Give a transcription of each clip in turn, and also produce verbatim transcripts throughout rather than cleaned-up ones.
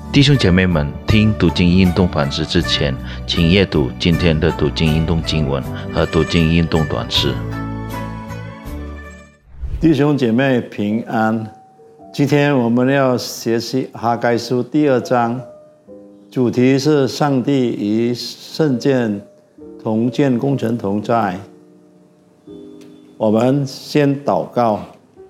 弟兄姐妹们，听读经运动反思之前，请阅读今天的读经运动经文和读经运动短诗。 弟兄姐妹平安，今天我们要学习哈该书第二章，主题是上帝与圣建同建工程同在。我们先祷告。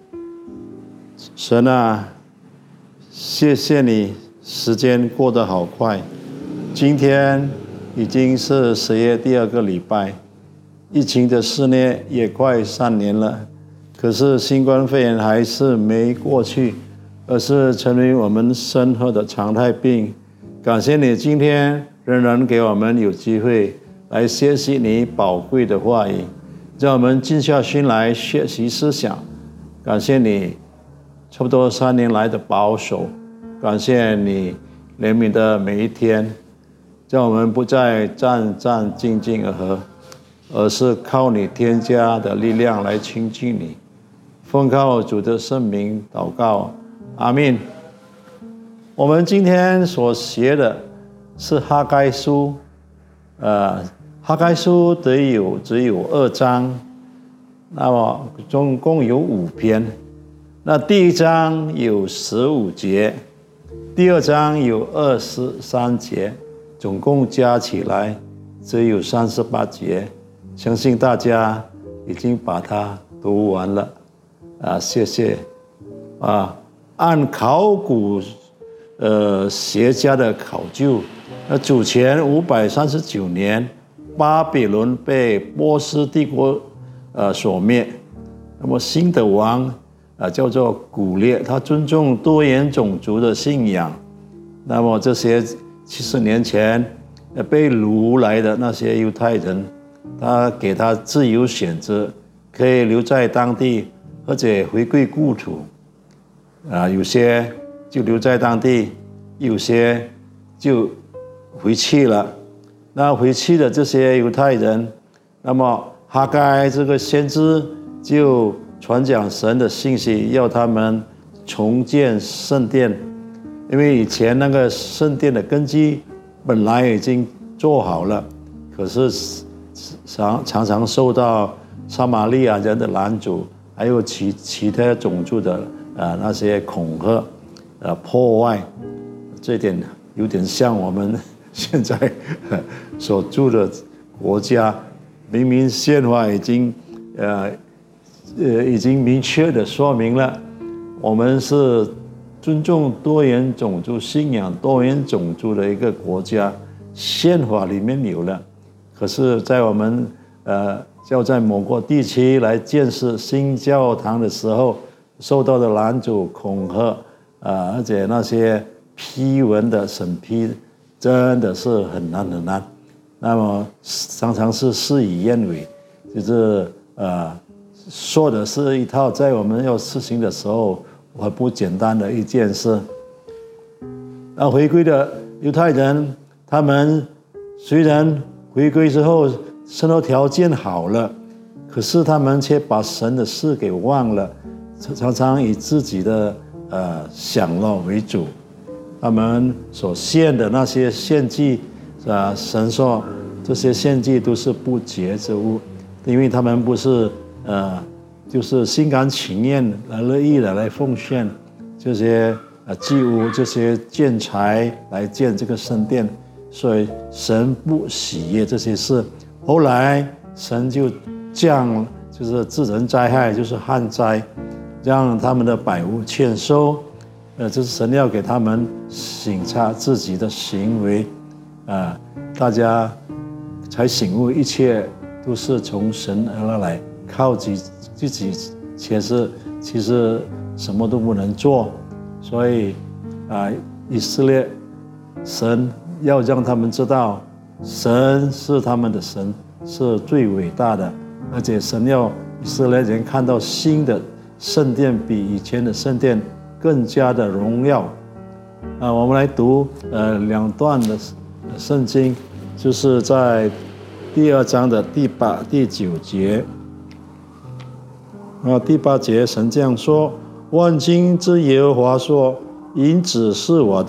神啊，谢谢你，时间过得好快，今天已经是十月第二个礼拜，疫情的肆虐也快三年了，可是新冠肺炎还是没过去，而是成为我们生活的常态病。感谢你今天仍然给我们有机会来学习你宝贵的话语，让我们静下心来学习思想。感谢你差不多三年来的保守，感谢你怜悯的每一天，让我们不再战战兢兢而和，而是靠你添加的力量来亲近你。奉靠主的圣名祷告，阿们。我们今天所学的是哈该书，呃，哈该书得有只有二章，那么总共有五篇。那第一章有十五节，第二章有二十三节，总共加起来只有三十八节。相信大家已经把它读完了啊，谢谢啊。按考古呃学家的考究，那主前五百三十九年，巴比伦被波斯帝国呃所灭，那么新的王啊，叫做古列，他尊重多元种族的信仰。那么这些七十年前被掳来的那些犹太人，他给他自由选择，可以留在当地或者回归故土。啊，有些就留在当地，有些就回去了。那回去的这些犹太人，那么哈该这个先知就传讲神的信息，要他们重建圣殿，因为以前那个圣殿的根基本来已经做好了，可是常常常受到撒玛利亚人的拦阻，还有其其他种族的呃那些恐吓、呃破坏，这点有点像我们现在所住的国家，明明宪法已经呃。呃，已经明确的说明了，我们是尊重多元种族信仰、多元种族的一个国家，宪法里面有了。可是，在我们呃要在某个地区来建设新教堂的时候，受到的拦阻、恐吓，啊，而且那些批文的审批真的是很难很难。那么常常是事与愿违，就是呃。说的是一套，在我们要实行的时候，很不简单的一件事。那回归的犹太人，他们虽然回归之后生活条件好了，可是他们却把神的事给忘了，常常以自己的呃享乐为主。他们所献的那些献祭，啊，神说这些献祭都是不洁之物，因为他们不是。呃，就是心甘情愿、乐意的来奉献这些呃祭物、这些建材来建这个圣殿，所以神不喜悦这些事。后来神就降，就是自然灾害，就是旱灾，让他们的百物欠收。呃，这是神要给他们省察自己的行为，啊、呃，大家才醒悟，一切都是从神而来。靠自自己，其实其实什么都不能做，所以啊，以色列神要让他们知道，神是他们的神，是最伟大的，而且神要以色列人看到新的圣殿比以前的圣殿更加的荣耀。啊，我们来读呃两段的圣经，就是在第二章的第八、第九节。啊，第八节，神这样说：万军之耶和华说，银子是我的，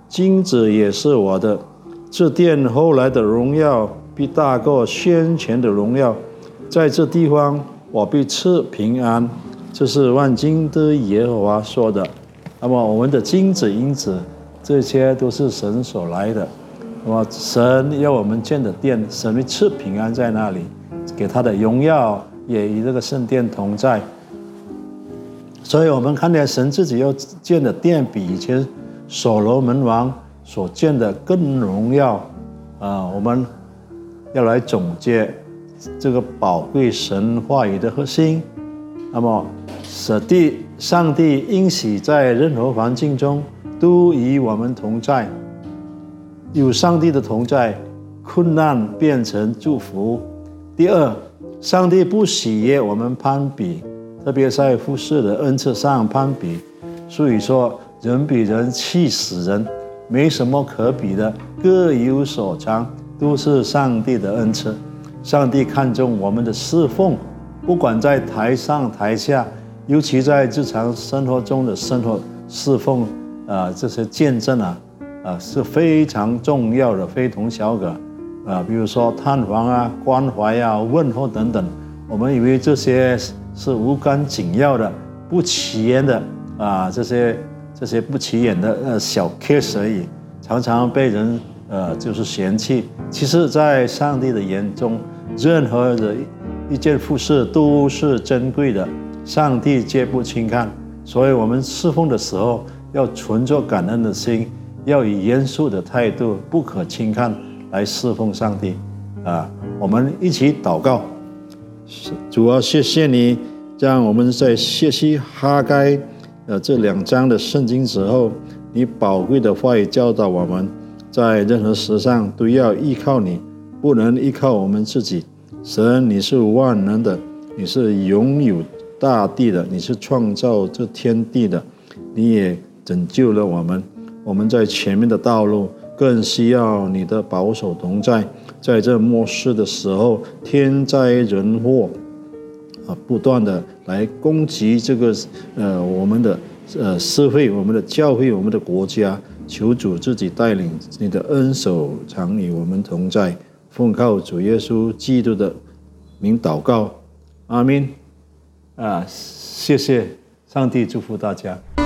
金子也是我的。这殿后来的荣耀必大过先前的荣耀，在这地方我必赐平安。这是万军的耶和华说的。那么我们的金子银子，这些都是神所来的。那么神要我们建的殿，神会赐平安在那里，给他的荣耀也与这个圣殿同在。所以我们看见神自己要建的殿比以前所罗门王所建的更荣耀啊！我们要来总结这个宝贵神话语的核心。那么，上帝上帝应许在任何环境中都与我们同在。有上帝的同在，困难变成祝福。第二，上帝不喜悦我们攀比，特别在服事的恩赐上攀比。所以说，人比人气死人，没什么可比的，各有所长，都是上帝的恩赐。上帝看重我们的侍奉，不管在台上台下，尤其在日常生活中的生活侍奉啊、呃，这些见证啊，啊、呃、是非常重要的，非同小可啊、呃。比如说探访啊、关怀啊、问候等等，我们以为这些是无关紧要的、不起眼的啊、呃，这些这些不起眼的呃小 case 而已，常常被人呃就是嫌弃。其实，在上帝的眼中，任何的一件服事都是珍贵的，上帝绝不轻看。所以我们侍奉的时候，要存着感恩的心，要以严肃的态度，不可轻看来侍奉上帝。啊，我们一起祷告。主啊，谢谢你，让我们在学习哈该呃这两章的圣经之后，你宝贵的话语教导我们，在任何事上都要依靠你，不能依靠我们自己。神，你是万能的，你是拥有大地的，你是创造这天地的，你也拯救了我们。我们在前面的道路更需要你的保守同在。在这末世的时候，天灾人祸啊，不断的来攻击这个呃我们的呃社会、我们的教会、我们的国家。求主自己带领，你的恩手常与我们同在。奉靠主耶稣基督的名祷告，阿们。啊，谢谢上帝，祝福大家。